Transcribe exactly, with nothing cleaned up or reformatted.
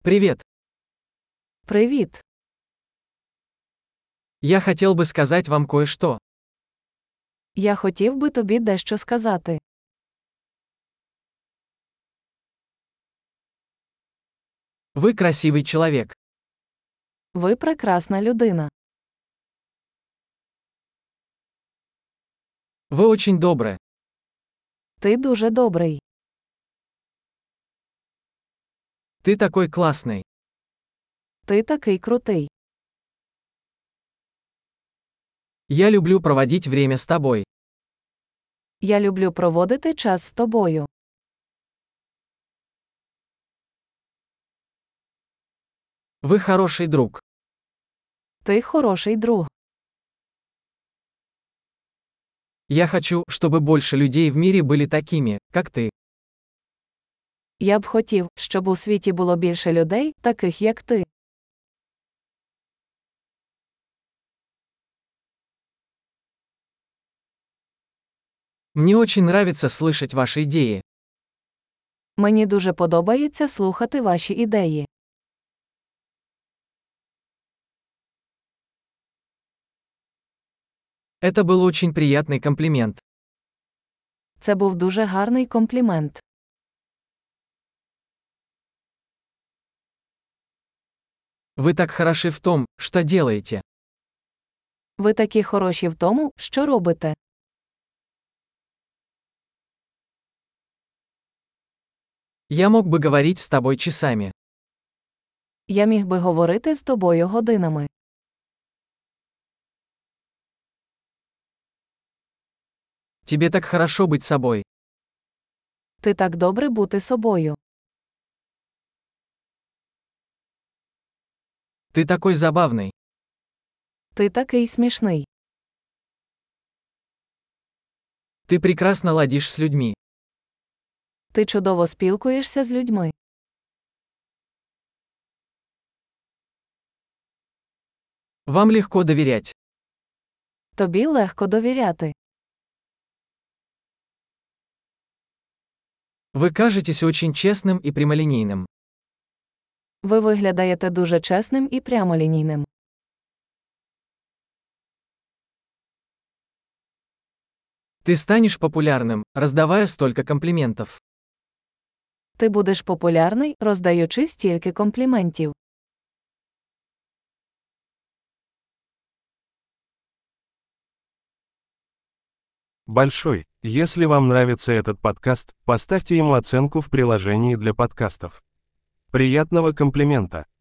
Привет. Привіт. Я хотел бы сказать вам кое-что. Я хотів би тобі дещо сказати. Вы красивый человек. Ви прекрасна людина. Вы очень добры. Ти дуже добрий. Ты такой классный. Ти такий крутий. Я люблю проводить время с тобой. Я люблю проводити час з тобою. Вы хороший друг. Ти хороший друг. Я хочу, чтобы больше людей в мире были такими, как ты. Я б хотів, щоб у світі було більше людей, таких як ти. Мне очень нравится слышать ваши идеи. Мені дуже подобається слухати ваші ідеї. Это был очень приятный комплимент. Це був дуже гарний комплімент. Вы так хороши в том, что делаете. Ви такі хороші в тому, що робите. Я мог бы говорить с тобой часами. Я міг би говорити з тобою годинами. Тебе так хорошо быть собой. Ти так добре бути собою. Ты такой забавный. Ти такий смішний. Ты прекрасно ладишь с людьми. Ти чудово спілкуєшся з людьми. Вам легко доверять. Тобі легко довіряти. Вы кажетесь очень честным и прямолинейным. Ви виглядаєте дуже чесним і прямолінійним. Ты станешь популярным, раздавая столько комплиментов. Ти будеш популярний, роздаючи стільки компліментів. Большой. Если вам нравится этот подкаст, поставьте ему оценку в приложении для подкастов. Приятного комплимента!